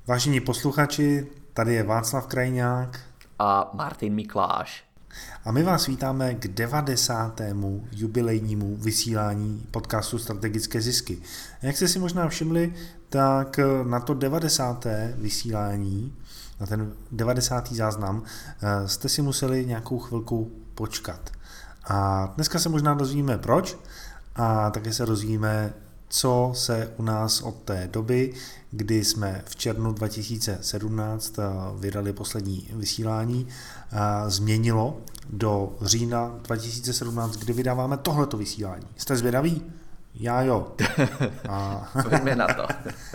Vážení posluchači, tady je Václav Krajňák a Martin Mikláš. A my vás vítáme k 90. jubilejnímu vysílání podcastu Strategické zisky. Jak jste si možná všimli, tak na to 90. vysílání, na ten 90. záznam, jste si museli nějakou chvilku počkat. A dneska se možná dozvíme proč a také se dozvíme, co se u nás od té doby, kdy jsme v červnu 2017 vydali poslední vysílání, změnilo do října 2017, kdy vydáváme tohleto vysílání. Jste zvědaví? Já jo. Pojďme na to.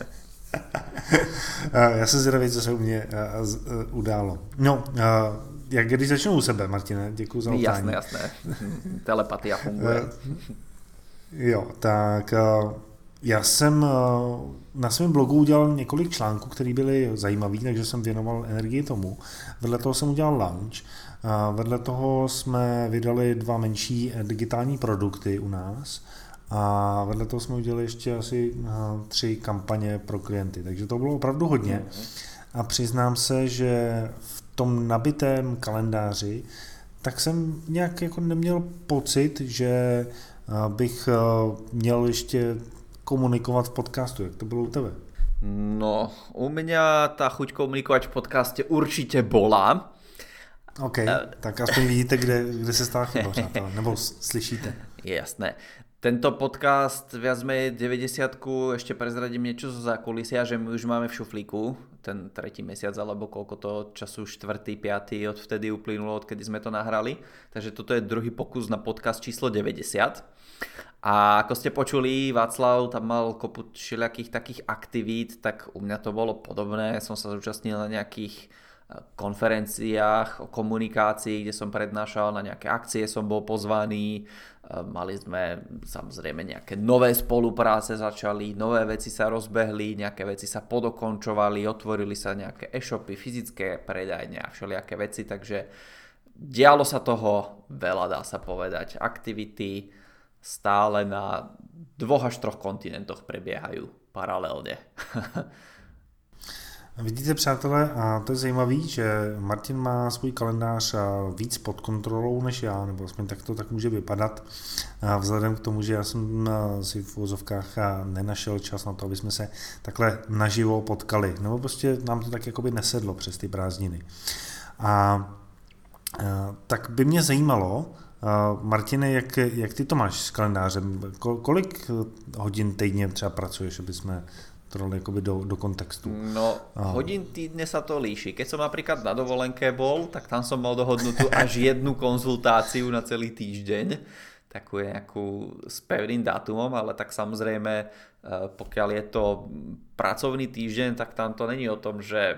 Já jsem zvědavý, co se u mě událo. No, jak když začnu u sebe, Martine, děkuji za otázku. Jasné. Telepatia funguje. Jo, tak já jsem na svém blogu udělal několik článků, které byly zajímavé, takže jsem věnoval energii tomu. Vedle toho jsem udělal launch. Vedle toho jsme vydali 2 menší digitální produkty u nás. A vedle toho jsme udělali ještě asi 3 kampaně pro klienty. Takže to bylo opravdu hodně. A přiznám se, že v tom nabitém kalendáři tak jsem nějak jako neměl pocit, že bych měl ještě komunikovat v podcastu. Jak to bylo u tebe? No, u mňa tá chuť komunikovať v podcaste určite bola. OK, tak aspoň vidíte, kde se stala chyba, přátelé, nebo slyšíte. Jasné. Tento podcast viac menej 90-ku, ešte prezradím niečo zo zákulisia, že my už máme v šuflíku ten 3. mesiac, alebo koľko to času, 4., 5. odvtedy uplynulo, odkedy sme to nahrali. Takže toto je druhý pokus na podcast číslo 90. A ako ste počuli, Václav tam mal kopu všelijakých takých aktivít, tak u mňa to bolo podobné. Som sa zúčastnil na nejakých konferenciách o komunikácii, kde som prednášal, na nejaké akcie som bol pozvaný. Mali sme samozrejme nejaké nové spolupráce, začali, nové veci sa rozbehli, nejaké veci sa podokončovali, otvorili sa nejaké e-shopy, fyzické predajne a všelijaké veci, takže dialo sa toho veľa, dá sa povedať. Aktivity stále na 2 až 3 kontinentoch prebiehajú paralelne. Vidíte, přátelé, a to je zajímavé, že Martin má svůj kalendář víc pod kontrolou než já, nebo aspoň tak to tak může vypadat, vzhledem k tomu, že já jsem si v uvozovkách nenašel čas na to, aby jsme se takhle naživo potkali, nebo prostě nám to tak jakoby nesedlo přes ty prázdniny. A tak by mě zajímalo, Martine, jak ty to máš s kalendářem? Kolik hodin týdně třeba pracuješ, aby jsme to dali jakoby do kontextu? No, hodín týdne sa to líši. Keď som napríklad na dovolenke bol, tak tam som mal dohodnutú až 1 konzultáciu na celý týždeň, takú nejakú s pevným dátumom, ale tak samozrejme, pokiaľ je to pracovný týždeň, tak tam to není o tom, že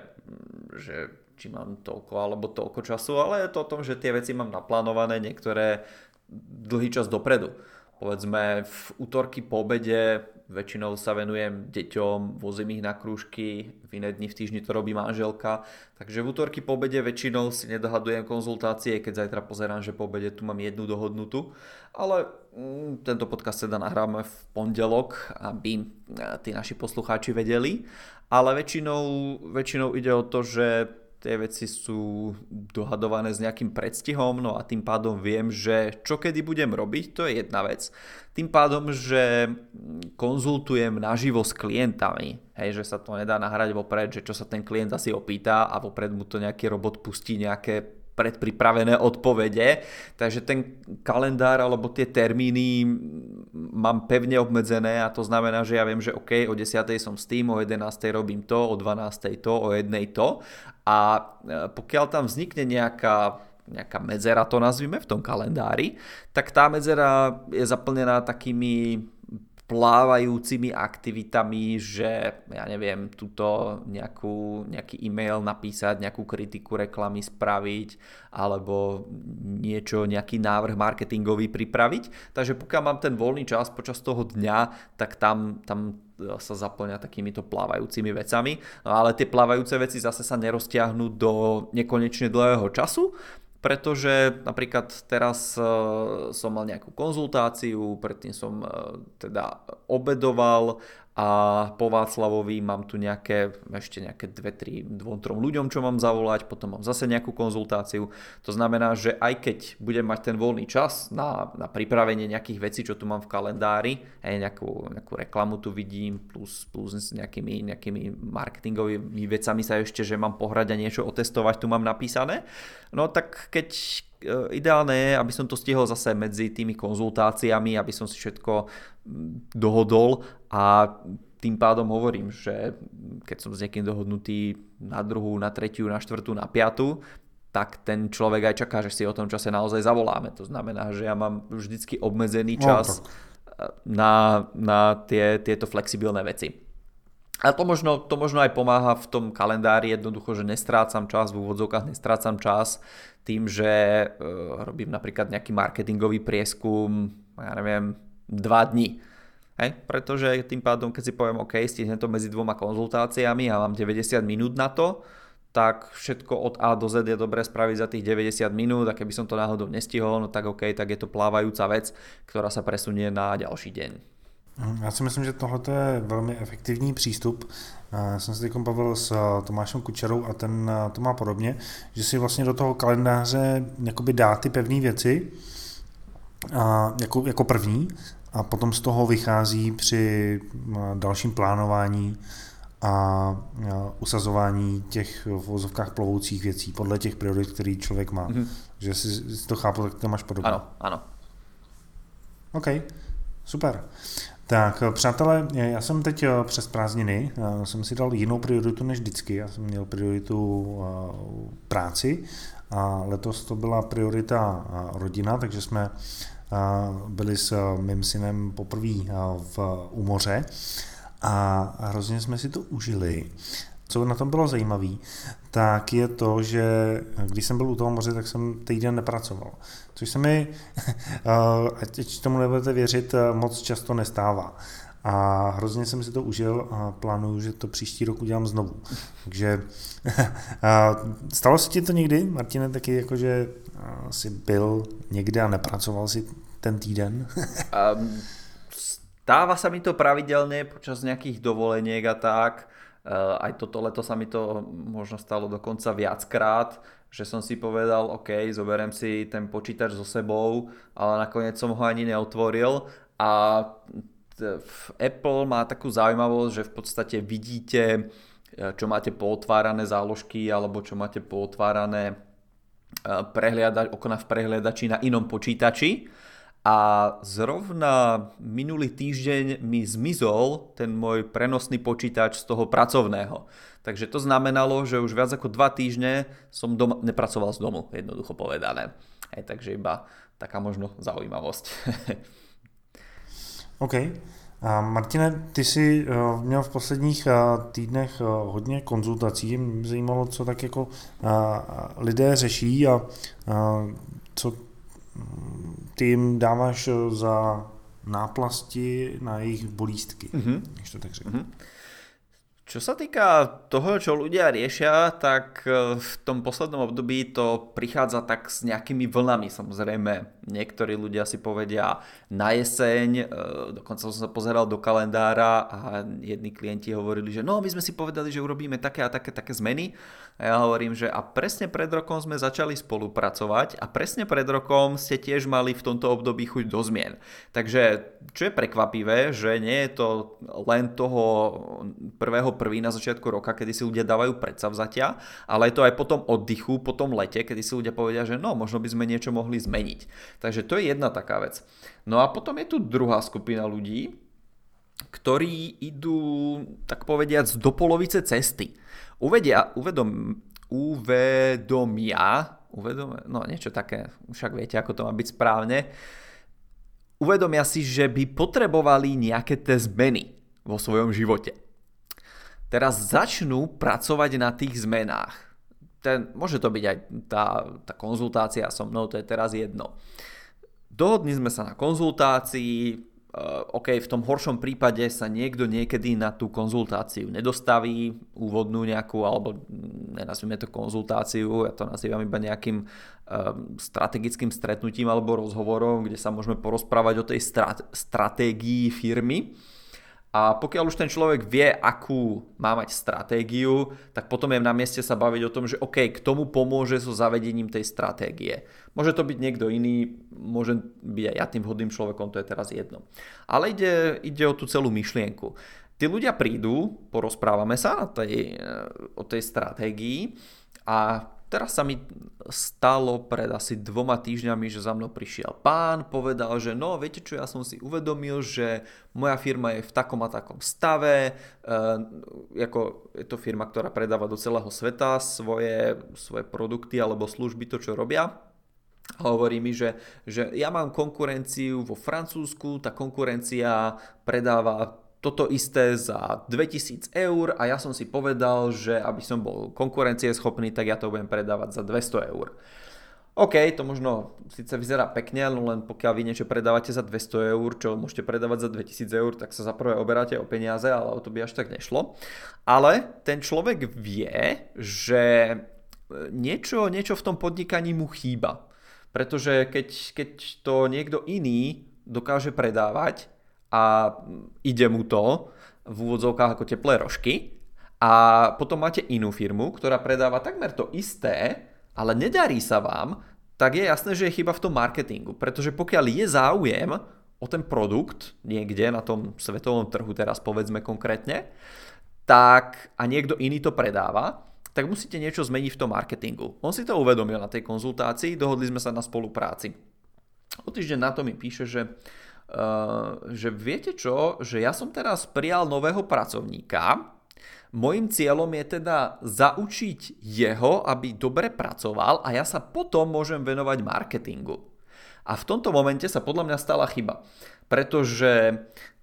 či mám toľko alebo toľko času, ale je to o tom, že tie veci mám naplánované niektoré dlhý čas dopredu. Povedzme v útorky po obede väčšinou sa venujem deťom, vozím ich na krúžky, v iné dni v týždni to robí manželka, takže v útorky po obede väčšinou si nedohadujem konzultácie, keď zajtra pozerám, že po obede tu mám 1 dohodnutú, ale tento podcast teda nahráme v pondelok, aby tí naši poslucháči vedeli, ale väčšinou ide o to, že tie veci sú dohadované s nejakým predstihom, no a tým pádom viem, že čo kedy budem robiť, to je jedna vec. Tým pádom, že konzultujem naživo s klientami, hej, že sa to nedá nahrať vopred, že čo sa ten klient asi opýta a vopred mu to nejaký robot pustí nejaké predpripravené odpovede, takže ten kalendár alebo tie termíny mám pevne obmedzené a to znamená, že ja viem, že OK, o 10:00 som s tým, o 11:00 robím to, o 12:00 to, o 1:00 to a pokiaľ tam vznikne nejaká medzera, to nazvime v tom kalendári, tak tá medzera je zaplnená takými plávajúcimi aktivitami, že ja neviem, tuto nejaký e-mail napísať, nejakú kritiku reklamy spraviť alebo nejaký návrh marketingový pripraviť. Takže pokiaľ mám ten voľný čas počas toho dňa, tak tam sa zaplňa takýmito plávajúcimi vecami. No ale tie plávajúce veci zase sa neroztiahnu do nekonečne dlhého času, pretože napríklad teraz som mal nejakú konzultáciu, predtým som teda obedoval a po Václavovi mám tu ešte nejaké 2-3 ľuďom, čo mám zavolať, potom mám zase nejakú konzultáciu. To znamená, že aj keď budem mať ten voľný čas na pripravenie nejakých vecí, čo tu mám v kalendári, nejakú reklamu tu vidím, plus s nejakými marketingovými vecami sa ešte, že mám pohrať a niečo otestovať, tu mám napísané. No tak ideálne je, aby som to stihol zase medzi tými konzultáciami, aby som si všetko dohodol a tým pádom hovorím, že keď som s niekým dohodnutý na 2., na 3., na 4., na 5., tak ten človek aj čaká, že si o tom čase naozaj zavoláme. To znamená, že ja mám vždycky obmedzený čas na tieto flexibilné veci. A to možno aj pomáha v tom kalendári, jednoducho, že nestrácam čas, v úvodzovkách nestrácam čas tým, že robím napríklad nejaký marketingový prieskum, ja neviem, 2 dní. Pretože tým pádom, keď si poviem, OK, stihnem to medzi 2 konzultáciami a mám 90 minút na to, tak všetko od A do Z je dobré spraviť za tých 90 minút a keby som to náhodou nestihol, no tak OK, tak je to plávajúca vec, ktorá sa presunie na ďalší deň. Já si myslím, že tohle je velmi efektivní přístup. Já jsem se teď bavil s Tomášem Kučerou a ten to má podobně, že si vlastně do toho kalendáře jakoby dá ty pevné věci jako první a potom z toho vychází při dalším plánování a usazování těch v vozovkách plovoucích věcí podle těch priorit, který člověk má. Že si to chápu, tak to máš podobně. Ano. OK, super. Tak přátelé, já jsem teď přes prázdniny, jsem si dal jinou prioritu než vždycky, já jsem měl prioritu práci a letos to byla priorita rodina, takže jsme byli s mým synem poprvé u moře a hrozně jsme si to užili. Co na tom bylo zajímavé, tak je to, že když jsem byl u toho moře, tak jsem týden nepracoval. Což se mi, ať tomu nebudete věřit, moc často nestává. A hrozně jsem si to užil a plánuju, že to příští rok udělám znovu. Takže stalo se ti to někdy, Martine, taky jakože jsi byl někde a nepracoval si ten týden? Stáva sa mi to pravidelne počas nejakých dovoleniek a tak. Aj toto leto sa mi to možno stalo dokonca viackrát, že som si povedal, OK, zoberiem si ten počítač so sebou, ale nakoniec som ho ani neotvoril a Apple má takú zaujímavosť, že v podstate vidíte, čo máte pootvárané záložky alebo čo máte pootvárané okna v prehliadači na inom počítači. A zrovna minulý týždeň mi zmizol ten môj prenosný počítač z toho pracovného. Takže to znamenalo, že už viac ako 2 týždne som nepracoval z domu, jednoducho povedané. Takže iba taká možno zaujímavosť. OK. A Martine, ty jsi měl v posledních týdnech hodně konzultací. Mě zajímalo, co tak jako lidé řeší a co ty jim dáváš za náplasti na jejich bolístky, když to tak řeknu. Čo sa týka toho, čo ľudia riešia, tak v tom poslednom období to prichádza tak s nejakými vlnami. Samozrejme, niektorí ľudia si povedia na jeseň, dokonca som sa pozeral do kalendára a jedni klienti hovorili, že no, my sme si povedali, že urobíme také a také zmeny. A ja hovorím, že a presne pred rokom sme začali spolupracovať a presne pred rokom ste tiež mali v tomto období chuť do zmien. Takže čo je prekvapivé, že nie je to len toho 1.1. na začiatku roka, kedy si ľudia dávajú predsavzatia, ale je to aj po tom oddychu, po tom lete, kedy si ľudia povedia, že no, možno by sme niečo mohli zmeniť. Takže to je jedna taká vec. No a potom je tu druhá skupina ľudí, ktorí idú, tak povediac, do polovice cesty. No niečo také, však viete, ako to má byť správne. Uvedomia si, že by potrebovali nejaké tie zmeny vo svojom živote. Teraz začnú pracovať na tých zmenách. Môže to byť aj tá konzultácia so mnou, to je teraz jedno. Dohodli sme sa na konzultácii, OK, v tom horšom prípade sa niekto niekedy na tú konzultáciu nedostaví, úvodnú nejakú, alebo nenazvime to konzultáciu, ja to nazývam iba nejakým strategickým stretnutím alebo rozhovorom, kde sa môžeme porozprávať o tej stratégii firmy. A pokiaľ už ten človek vie, akú má mať stratégiu, tak potom je na mieste sa baviť o tom, že OK, k tomu pomôže so zavedením tej stratégie. Môže to byť niekto iný, môže byť aj ja tým vhodným človekom, to je teraz jedno. Ale ide o tú celú myšlienku. Tí ľudia prídu, porozprávame sa o tej stratégii a teraz sa mi stalo pred asi 2 týždňami, že za mnou prišiel pán, povedal, že no, viete čo, ja som si uvedomil, že moja firma je v takom a takom stave, je to firma, ktorá predáva do celého sveta svoje produkty alebo služby, to čo robia. A hovorí mi, že ja mám konkurenciu vo Francúzsku, tá konkurencia predáva toto isté za 2000 eur a ja som si povedal, že aby som bol konkurencieschopný, tak ja to budem predávať za 200 eur. OK, to možno síce vyzerá pekne, no len pokiaľ vy niečo predávate za 200 eur, čo môžete predávať za 2000 eur, tak sa za prvé oberáte o peniaze, ale o to by až tak nešlo. Ale ten človek vie, že niečo v tom podnikaní mu chýba. Pretože keď to niekto iný dokáže predávať, a ide mu to v úvodzovkách ako teplé rožky a potom máte inú firmu, ktorá predáva takmer to isté, ale nedarí sa vám, tak je jasné, že je chyba v tom marketingu, pretože pokiaľ je záujem o ten produkt niekde na tom svetovom trhu, teraz povedzme konkrétne, tak a niekto iný to predáva, tak musíte niečo zmeniť v tom marketingu. On si to uvedomil na tej konzultácii, dohodli sme sa na spolupráci. O týždeň na to mi píše, že viete čo, že ja som teraz prijal nového pracovníka, mojím cieľom je teda zaučiť jeho, aby dobre pracoval a ja sa potom môžem venovať marketingu. A v tomto momente sa podľa mňa stala chyba, pretože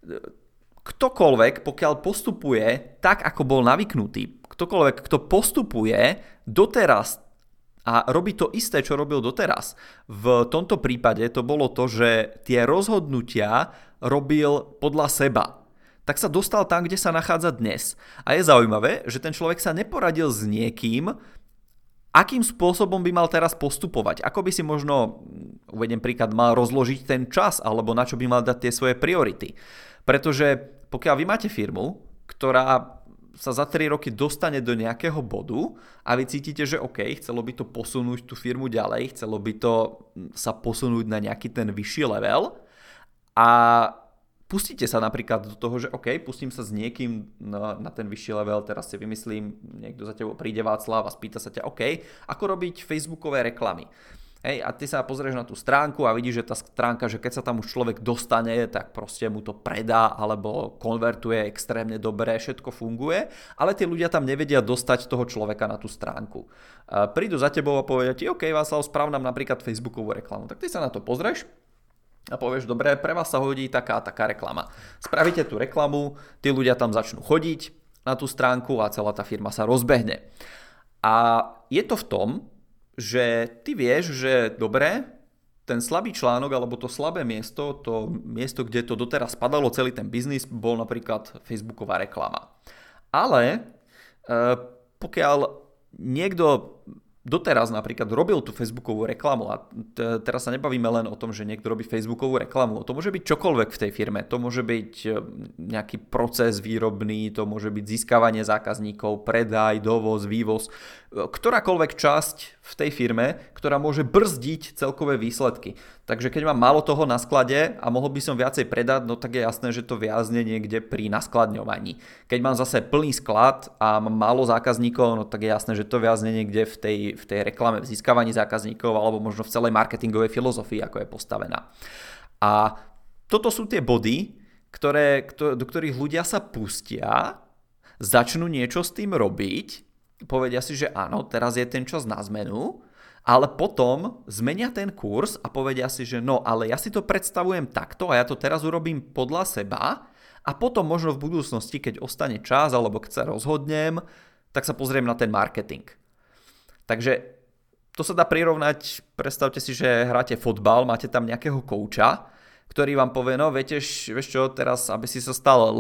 ktokoľvek, pokiaľ postupuje tak, ako bol navyknutý, ktokoľvek, kto postupuje doteraz a robí to isté, čo robil doteraz. V tomto prípade to bolo to, že tie rozhodnutia robil podľa seba. Tak sa dostal tam, kde sa nachádza dnes. A je zaujímavé, že ten človek sa neporadil s niekým, akým spôsobom by mal teraz postupovať. Ako by si možno, uvediem príklad, mal rozložiť ten čas, alebo na čo by mal dať tie svoje priority. Pretože pokiaľ vy máte firmu, ktorá sa za 3 roky dostane do nejakého bodu a vy cítite, že OK, chcelo by to posunúť tú firmu ďalej, chcelo by to sa posunúť na nejaký ten vyšší level a pustíte sa napríklad do toho, že OK, pustím sa s niekým na ten vyšší level, teraz si vymyslím, niekto za tebou príde Václav a spýta sa ťa OK, ako robiť facebookové reklamy. Hej, a ty sa pozrieš na tú stránku a vidíš, že tá stránka, že keď sa tam už človek dostane, tak proste mu to predá alebo konvertuje extrémne dobre, všetko funguje, ale tí ľudia tam nevedia dostať toho človeka na tú stránku. Prídu za tebou a povedia ti, OK, Václav, správ nám napríklad facebookovú reklamu. Tak ty sa na to pozrieš a povieš, dobre, pre vás sa hodí taká reklama. Spravíte tú reklamu, tí ľudia tam začnú chodiť na tú stránku a celá tá firma sa rozbehne. A je to v tom, že ty vieš, že dobre, ten slabý článok alebo to slabé miesto, to miesto, kde to doteraz spadalo celý ten biznis, bol napríklad facebooková reklama. Ale pokiaľ niekto doteraz napríklad robil tú facebookovú reklamu a teraz sa nebavíme len o tom, že niekto robí facebookovú reklamu, to môže byť čokoľvek v tej firme, to môže byť nejaký proces výrobný, to môže byť získavanie zákazníkov, predaj, dovoz, vývoz, ktorákoľvek časť v tej firme, ktorá môže brzdiť celkové výsledky. Takže keď mám málo toho na sklade a mohol by som viacej predať, no tak je jasné, že to viazne niekde pri naskladňovaní. Keď mám zase plný sklad a mám málo zákazníkov, no tak je jasné, že to viazne niekde v tej reklame, v získavaní zákazníkov alebo možno v celej marketingovej filozofii, ako je postavená. A toto sú tie body, do ktorých ľudia sa pustia, začnú niečo s tým robiť, povedia si, že áno, teraz je ten čas na zmenu, ale potom zmenia ten kurz a povedia si, že no, ale ja si to predstavujem takto a ja to teraz urobím podľa seba a potom možno v budúcnosti, keď ostane čas alebo keď sa rozhodnem, tak sa pozriem na ten marketing. Takže to sa dá prirovnať, predstavte si, že hráte fotbal, máte tam nejakého kouča, ktorý vám povie, no vieš čo, teraz, aby si sa stal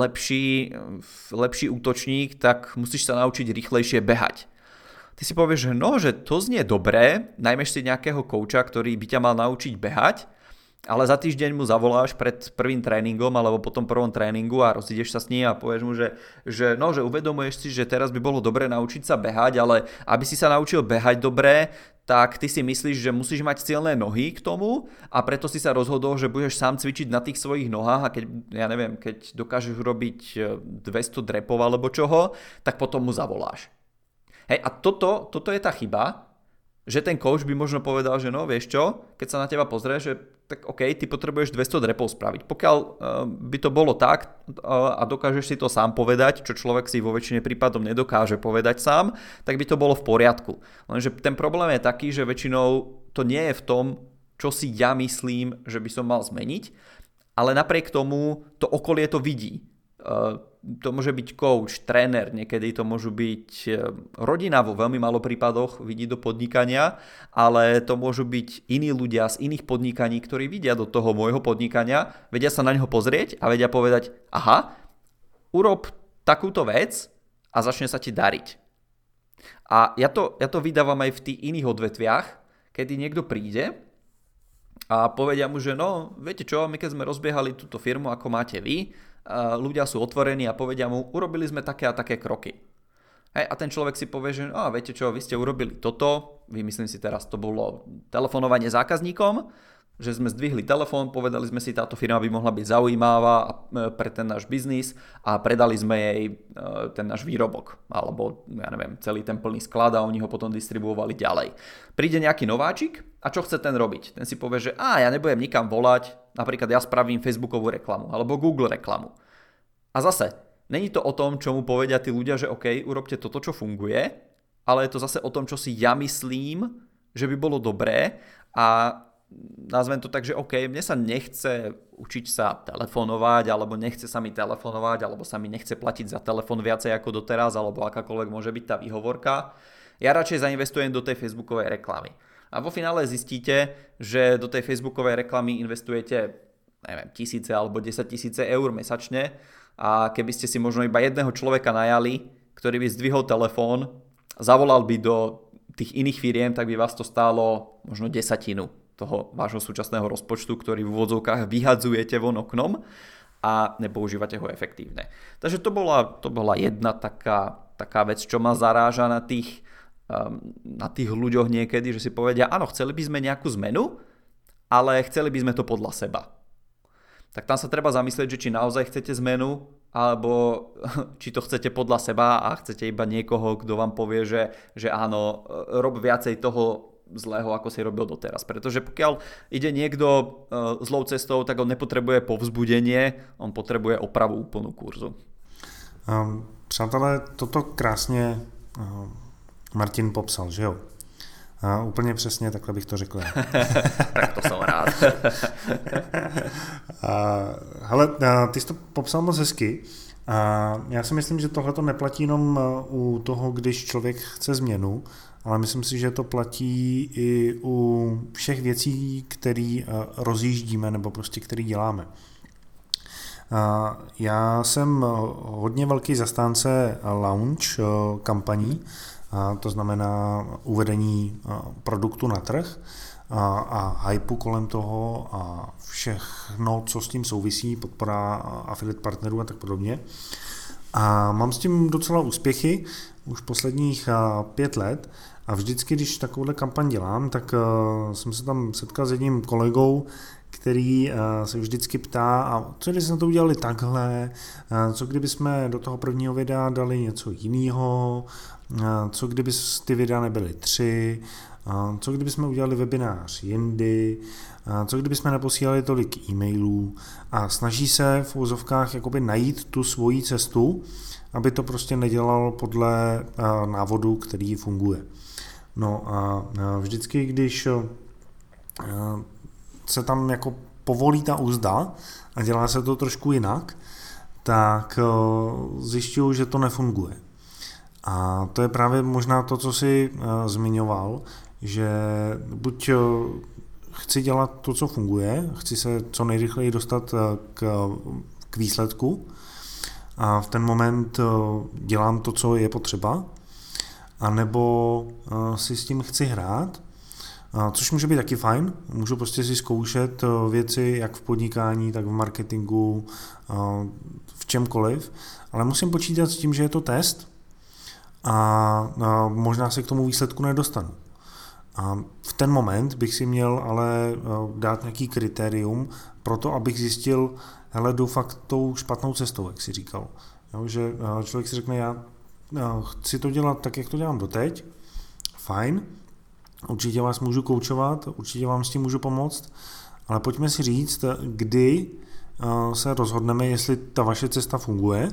lepší útočník, tak musíš sa naučiť rýchlejšie behať. Ty si povieš, že no, že to znie dobré, najmeš si nejakého kouča, ktorý by ťa mal naučiť behať, ale za týždeň mu zavoláš pred prvým tréningom alebo po tom prvom tréningu a rozídeš sa s ním a povieš mu, že uvedomuješ si, že teraz by bolo dobré naučiť sa behať, ale aby si sa naučil behať dobre, tak ty si myslíš, že musíš mať silné nohy k tomu a preto si sa rozhodol, že budeš sám cvičiť na tých svojich nohách a keď dokážeš urobiť 200 drepov alebo čoho, tak potom mu zavoláš. Hej, a toto je tá chyba, že ten coach by možno povedal, že no vieš čo, keď sa na teba pozrie, že tak OK, ty potrebuješ 200 drepov spraviť. Pokiaľ by to bolo tak a dokážeš si to sám povedať, čo človek si vo väčšine prípadom nedokáže povedať sám, tak by to bolo v poriadku. Lenže ten problém je taký, že väčšinou to nie je v tom, čo si ja myslím, že by som mal zmeniť, ale napriek tomu to okolie to vidí. To môže byť coach, tréner, niekedy to môžu byť rodina, vo veľmi málo prípadoch vidí do podnikania, ale to môžu byť iní ľudia z iných podnikaní, ktorí vidia do toho môjho podnikania, vedia sa na neho pozrieť a vedia povedať, aha, urob takúto vec a začne sa ti dariť. A ja to vydávam aj v tých iných odvetviach, kedy niekto príde a povedia mu, že no, viete čo, my keď sme rozbiehali túto firmu, ako máte vy, ľudia sú otvorení a povedia mu, urobili sme také a také kroky. Hej, a ten človek si povie, že viete čo, vy ste urobili toto, vymyslím si teraz, to bolo telefonovanie zákazníkom, že sme zdvihli telefón, povedali sme si, táto firma by mohla byť zaujímavá pre ten náš biznis a predali sme jej ten náš výrobok, alebo celý ten plný sklad a oni ho potom distribuovali ďalej. Príde nejaký nováčik a čo chce ten robiť? Ten si povie, že ja nebudem nikam volať, napríklad ja spravím Facebookovú reklamu alebo Google reklamu. A zase, není to o tom, čo mu povedia tí ľudia, že OK, urobte toto, čo funguje, ale je to zase o tom, čo si ja myslím, že by bolo dobré a nazvem to tak, že OK, mne sa nechce učiť sa telefonovať, alebo nechce sa mi telefonovať, alebo sa mi nechce platiť za telefon viacej ako doteraz, alebo akákoľvek môže byť tá výhovorka. Ja radšej zainvestujem do tej Facebookovej reklamy. A vo finále zistíte, že do tej Facebookovej reklamy investujete, tisíce alebo 10 000 eur mesačne a keby ste si možno iba jedného človeka najali, ktorý by zdvihol telefón, zavolal by do tých iných firiem, tak by vás to stálo možno 10% toho vášho súčasného rozpočtu, ktorý v úvodzovkách vyhadzujete von oknom a nepoužívate ho efektívne. Takže to bola jedna taká vec, čo ma zaráža na tých ľuďoch niekedy, že si povedia, áno, chceli by sme nejakú zmenu, ale chceli by sme to podľa seba. Tak tam sa treba zamyslieť, že či naozaj chcete zmenu, alebo či to chcete podľa seba a chcete iba niekoho, kto vám povie, že áno, rob viacej toho zlého, ako si robil doteraz. Pretože pokiaľ ide niekto zlou cestou, tak on nepotrebuje povzbudenie, on potrebuje opravu úplnú kurzu. Přátelé, toto krásně Martin popsal, že jo? Úplně přesně, takhle bych to řekl. Tak to jsem rád. Hele, ty jsi to popsal moc hezky. Já si myslím, že tohle to neplatí jenom u toho, když člověk chce změnu, ale myslím si, že to platí i u všech věcí, které rozjíždíme nebo prostě které děláme. Já jsem hodně velký zastánce launch kampaní, to znamená uvedení produktu na trh a hypu kolem toho a všechno, co s tím souvisí, podpora affiliate partnerů a tak podobně. A mám s tím docela úspěchy už posledních 5 let a vždycky, když takovouhle kampaň dělám, tak jsem se tam setkal s jedním kolegou, který se vždycky ptá, a co kdyby jsme to udělali takhle, co kdyby jsme do toho prvního videa dali něco jiného, co kdyby ty videa nebyly 3, co kdyby jsme udělali webinář jindy, co kdyby jsme neposílali tolik e-mailů a snaží se v úzovkách jakoby najít tu svoji cestu, aby to prostě nedělalo podle návodu, který funguje. No a vždycky, když se tam jako povolí ta úzda a dělá se to trošku jinak, tak zjišťuju, že to nefunguje. A to je právě možná to, co jsi zmiňoval, že buď chci dělat to, co funguje, chci se co nejrychleji dostat k výsledku a v ten moment dělám to, co je potřeba, anebo si s tím chci hrát Což může být taky fajn. Můžu prostě si zkoušet věci jak v podnikání, tak v marketingu, v čemkoliv. Ale musím počítat s tím, že je to test a možná se k tomu výsledku nedostanu. A v ten moment bych si měl ale dát nějaký kritérium pro to, abych zjistil, hele, jdu fakt tou špatnou cestou, jak si říkal. Jo, že člověk si řekne, já chci to dělat tak, jak to dělám doteď, fajn, určitě vás můžu koučovat, určitě vám s tím můžu pomoct, ale pojďme si říct, kdy se rozhodneme, jestli ta vaše cesta funguje,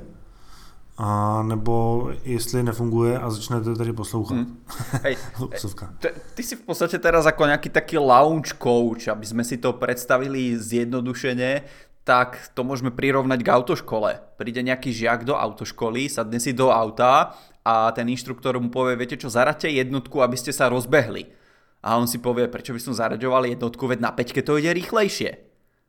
a nebo jestli nefunguje a začnete tady poslouchat. Hej, ty si v podstate teraz ako nejaký taký lounge coach, aby sme si to predstavili zjednodušene, tak to môžeme prirovnať k autoškole. Príde nejaký žiak do autoškoly, sadne si do auta a ten inštruktor mu povie, viete čo, zaraďte jednotku, aby ste sa rozbehli. A on si povie, prečo by som zaraďoval jednotku, veď na 5 to ide rýchlejšie.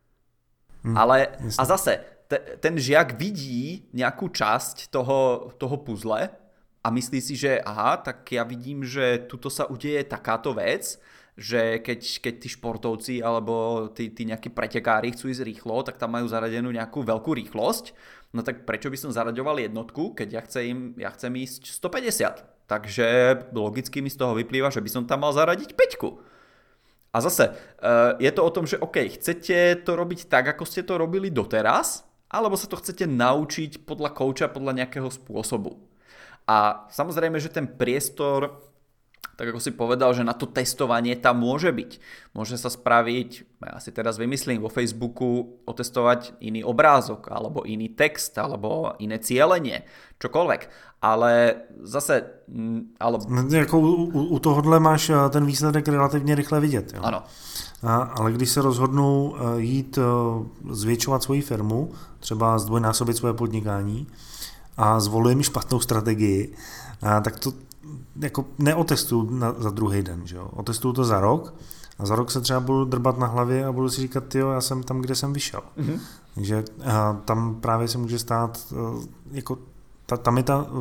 Ale a zase ten žiak vidí nejakú časť toho puzzle a myslí si, že aha, tak ja vidím, že tuto sa udeje takáto vec, že keď tí športovci alebo tí nejakí pretekári chcú ísť rýchlo, tak tam majú zaradenú nejakú veľkú rýchlosť. No tak prečo by som zaraďoval jednotku, keď ja chcem ísť 150? Takže logicky mi z toho vyplýva, že by som tam mal zaradiť 5. A zase je to o tom, že OK, chcete to robiť tak, ako ste to robili doteraz, alebo sa to chcete naučiť podľa kouča, podľa nejakého spôsobu. A samozrejme, že ten priestor, tak ako si povedal, že na to testovanie tam môže byť. Môže sa spraviť, ja si teraz vymyslím, vo Facebooku otestovať iný obrázok, alebo iný text, alebo iné cielenie, čokoľvek. Ale zase... Jako u tohohle máš ten výsledek relativně rychle vidět. Jo? Ano. Ale když se rozhodnu jít zvětšovat svoji firmu, třeba zdvojnásobit svoje podnikání a zvolím špatnou strategii, tak to jako neotestuju za druhý den. Že jo? Otestuju to za rok a za rok se třeba budu drbat na hlavě a budu si říkat, jo, já jsem tam, kde jsem vyšel. Mm-hmm. Takže tam právě se může stát, jako tam je ta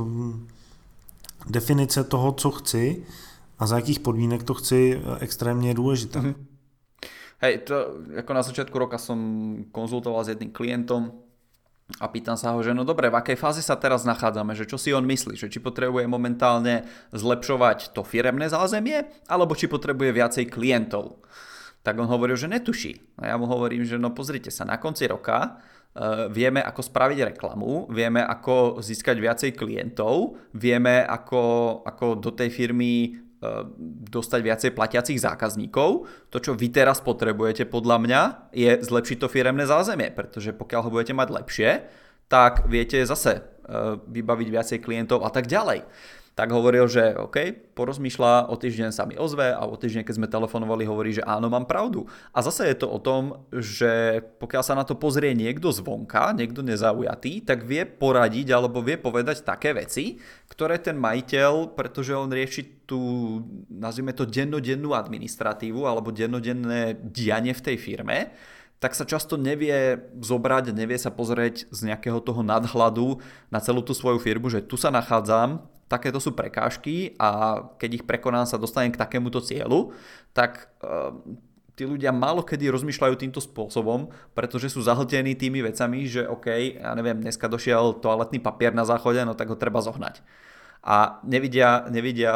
definice toho, co chci a za jakých podmínek to chci, extrémně důležitá. Mm-hmm. Hej, to ako na začiatku roka som konzultoval s jedným klientom a pýtam sa ho, že no dobre, v akej fáze sa teraz nachádzame, že čo si on myslí, že či potrebuje momentálne zlepšovať to firemné zázemie, alebo či potrebuje viacej klientov. Tak on hovoril, že netuší. A ja mu hovorím, že no pozrite sa, na konci roka vieme, ako spraviť reklamu, vieme, ako získať viacej klientov, vieme, ako do tej firmy dostať viacej platiacich zákazníkov. To, čo vy teraz potrebujete podľa mňa, je zlepšiť to firemné zázemie, pretože pokiaľ ho budete mať lepšie, tak viete zase vybaviť viacej klientov a tak ďalej. Tak hovoril, že OK, porozmýšľa, o týždeň sa mi ozve a o týždeň, keď sme telefonovali, hovorí, že áno, mám pravdu. A zase je to o tom, že pokiaľ sa na to pozrie niekto zvonka, niekto nezaujatý, tak vie poradiť alebo vie povedať také veci, ktoré ten majiteľ, pretože on rieši tú, nazvime to dennodennú administratívu alebo dennodenné dianie v tej firme, tak sa často nevie zobrať, nevie sa pozrieť z nejakého toho nadhľadu na celú tú svoju firmu, že tu sa nachádzam, takéto sú prekážky a keď ich prekonám, sa dostanem k takémuto cieľu, tak tí ľudia málo kedy rozmýšľajú týmto spôsobom, pretože sú zahltení tými vecami, že OK, ja neviem, dneska došiel toaletný papier na záchode, no tak ho treba zohnať. A nevidia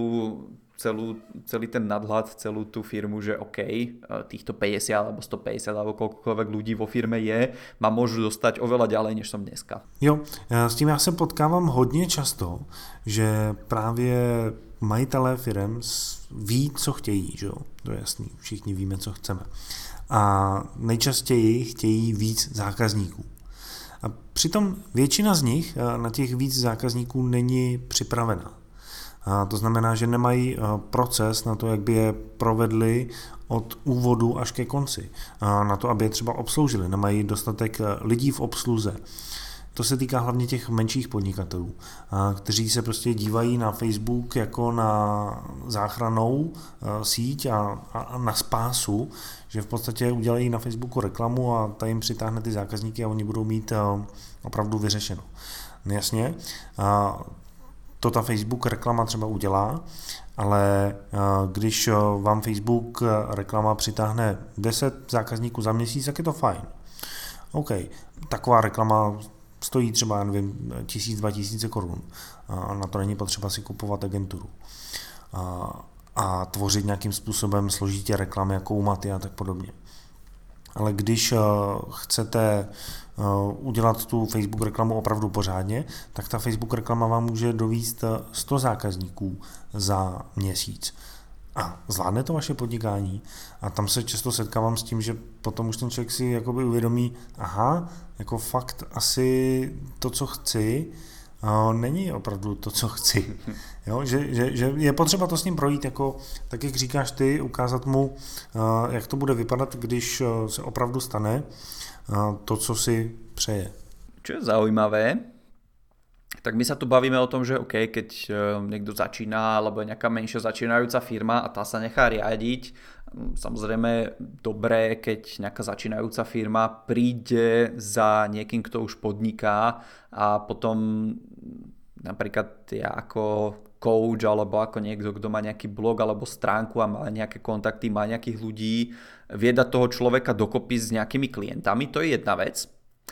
celý ten nadhľad, celú tú firmu, že OK, týchto 50 alebo 150 alebo koľkoľvek ľudí vo firme je, ma môžu dostať oveľa ďalej, než som dneska. Jo, s tím já se potkávám hodně často, že právě majitelé firem ví, co chtějí, že jo? To je jasný, všichni víme, co chceme. A nejčastěji chtějí víc zákazníků. A přitom většina z nich na těch víc zákazníků není připravená. A to znamená, že nemají proces na to, jak by je provedli od úvodu až ke konci. A na to, aby je třeba obsloužili. Nemají dostatek lidí v obsluze. To se týká hlavně těch menších podnikatelů, kteří se prostě dívají na Facebook jako na záchrannou síť a na spásu, že v podstatě udělají na Facebooku reklamu a ta jim přitáhne ty zákazníky a oni budou mít opravdu vyřešeno. Jasně. to ta Facebook reklama třeba udělá, ale když vám Facebook reklama přitáhne 10 zákazníků za měsíc, tak je to fajn. OK, taková reklama stojí třeba, nevím, 1000–2000 korun. A na to není potřeba si kupovat agenturu. A tvořit nějakým způsobem složitě reklamy jako u Maty a tak podobně. Ale když chcete udělat tu Facebook reklamu opravdu pořádně, tak ta Facebook reklama vám může dovízt 100 zákazníků za měsíc. A zvládne to vaše podnikání? A tam se často setkávám s tím, že potom už ten člověk si jakoby uvědomí, aha, jako fakt asi to, co chci, není opravdu to, co chci. Jo? Že je potřeba to s ním projít, jako, tak jak říkáš ty, ukázat mu, jak to bude vypadat, když se opravdu stane to, co si přeje. Čo je zaujímavé, tak my sa tu bavíme o tom, že OK, keď niekto začína, alebo je nejaká menšia začínajúca firma a tá sa nechá riadiť, samozrejme dobré, keď nejaká začínajúca firma príde za niekým, kto už podniká a potom napríklad ja ako coach alebo ako niekto, kto má nejaký blog alebo stránku a má nejaké kontakty, má nejakých ľudí, vie dať toho človeka dokopy s nejakými klientami, to je jedna vec.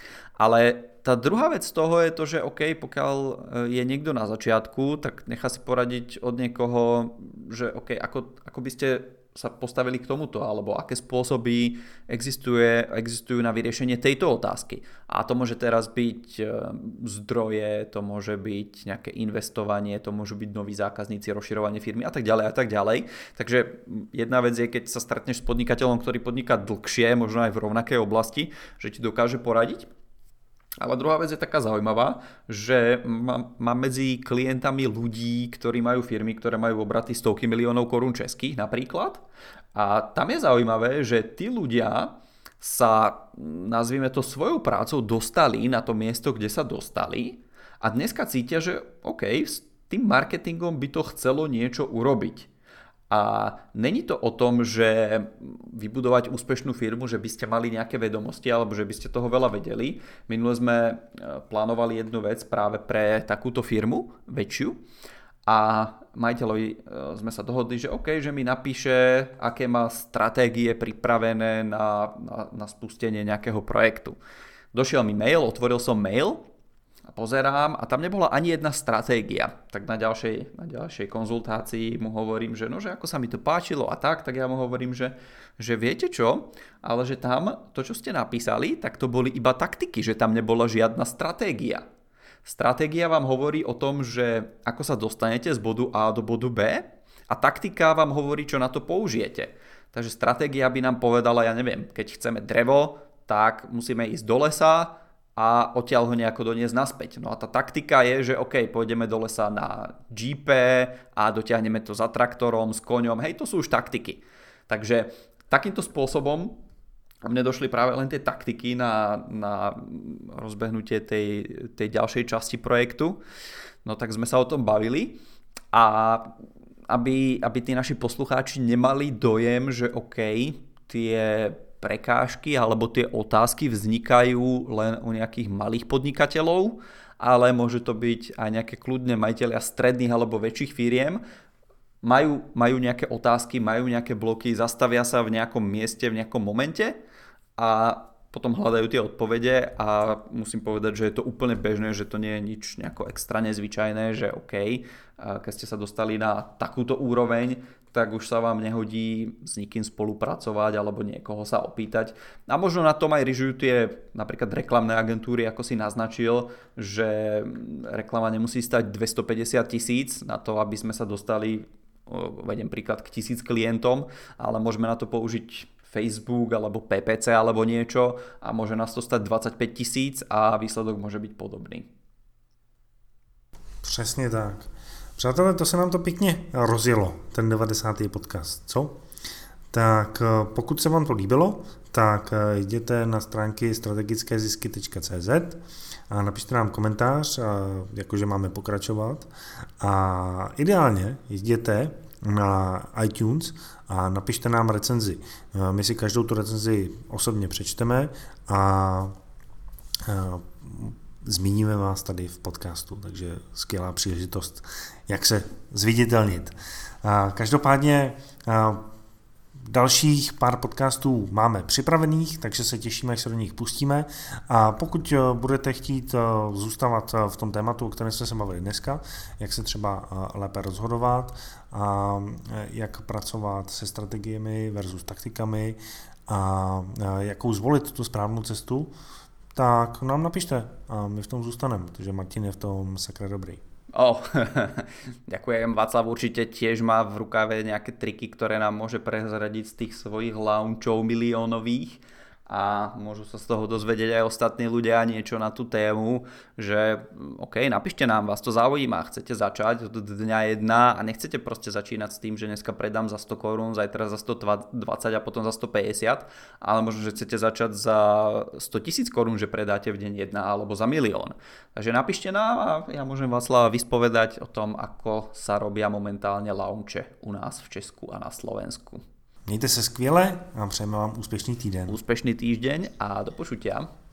Ale tá druhá vec z toho je to, že OK, pokiaľ je niekto na začiatku, tak nechá si poradiť od niekoho, že OK, ako by ste sa postavili k tomuto, alebo aké spôsoby existujú na vyriešenie tejto otázky. A to môže teraz byť zdroje, to môže byť nejaké investovanie, to môžu byť noví zákazníci, rozširovanie firmy a tak ďalej a tak ďalej. Takže jedna vec je, keď sa stretneš s podnikateľom, ktorý podniká dlhšie, možno aj v rovnakej oblasti, že ti dokáže poradiť. Ale druhá vec je taká zaujímavá, že mám medzi klientami ľudí, ktorí majú firmy, ktoré majú obraty stovky miliónov korún českých napríklad. A tam je zaujímavé, že tí ľudia sa, nazvime to svojou prácou, dostali na to miesto, kde sa dostali a dneska cítia, že OK, s tým marketingom by to chcelo niečo urobiť. A není to o tom, že vybudovať úspešnú firmu, že by ste mali nejaké vedomosti alebo že by ste toho veľa vedeli. Minule sme plánovali jednu vec práve pre takúto firmu, väčšiu. A majiteľovi sme sa dohodli, že OK, že mi napíše, aké má stratégie pripravené na spustenie nejakého projektu. Došiel mi mail, otvoril som mail a pozerám a tam nebola ani jedna stratégia. Tak na ďalšej konzultácii mu hovorím, že ako sa mi to páčilo a tak ja mu hovorím, že viete čo, ale že tam to, čo ste napísali, tak to boli iba taktiky, že tam nebola žiadna stratégia. Stratégia vám hovorí o tom, že ako sa dostanete z bodu A do bodu B a taktika vám hovorí, čo na to použijete. Takže stratégia by nám povedala, ja neviem, keď chceme drevo, tak musíme ísť do lesa a odtiaľ ho nejako doniesť naspäť. No a tá taktika je, že OK, pôjdeme do lesa na jeepe a dotiahneme to za traktorom, s koňom. Hej, to sú už taktiky. Takže takýmto spôsobom mne došli práve len tie taktiky na rozbehnutie tej ďalšej časti projektu. No tak sme sa o tom bavili a aby tí naši poslucháči nemali dojem, že OK, tie prekážky alebo tie otázky vznikajú len u nejakých malých podnikateľov, ale môže to byť aj nejaké kľudne majitelia stredných alebo väčších firiem. Majú nejaké otázky, majú nejaké bloky, zastavia sa v nejakom mieste, v nejakom momente a potom hľadajú tie odpovede a musím povedať, že je to úplne bežné, že to nie je nič nejako extra nezvyčajné, že OK, keď ste sa dostali na takúto úroveň, tak už sa vám nehodí s nikým spolupracovať alebo niekoho sa opýtať. A možno na tom aj ryžujú tie napríklad reklamné agentúry, ako si naznačil, že reklama nemusí stať 250 000 na to, aby sme sa dostali, vediem príklad, k 1000 klientom, ale môžeme na to použiť Facebook alebo PPC alebo niečo a môže nás to stať 25 000 a výsledok môže byť podobný. Přesně tak. Přátelé, to se nám to pěkně rozjelo, ten 90. podcast, co? Tak pokud se vám to líbilo, tak jděte na stránky strategickézisky.cz a napište nám komentář, jakože máme pokračovat. A ideálně jděte na iTunes a napište nám recenzi. My si každou tu recenzi osobně přečteme a zmíníme vás tady v podcastu, takže skvělá příležitost, jak se zviditelnit. Každopádně dalších pár podcastů máme připravených, takže se těšíme, jak se do nich pustíme. A pokud budete chtít zůstávat v tom tématu, o kterém jsme se bavili dneska, jak se třeba lépe rozhodovat a jak pracovat se strategiemi versus taktikami a jakou zvolit tu správnou cestu, tak nám napište a my v tom zůstaneme, protože Martin je v tom sakra dobrý. Ďakujem. Václav určite tiež má v rukave nejaké triky, ktoré nám môže prezradiť z tých svojich launchov miliónových a môžu sa z toho dozvedieť aj ostatní ľudia niečo na tú tému, že OK, napíšte nám, vás to zaujíma, chcete začať od dňa 1 a nechcete proste začínať s tým, že dneska predám za 100 korún, zajtra za 120 a potom za 150, ale možno, že chcete začať za 100 000 korún, že predáte v deň 1 alebo za 1 000 000. Takže napíšte nám a ja môžem Václava vyspovedať o tom, ako sa robia momentálne launche u nás v Česku a na Slovensku. Mějte se skvěle a přejeme vám úspěšný týden. Úspešný týždeň a do počutia.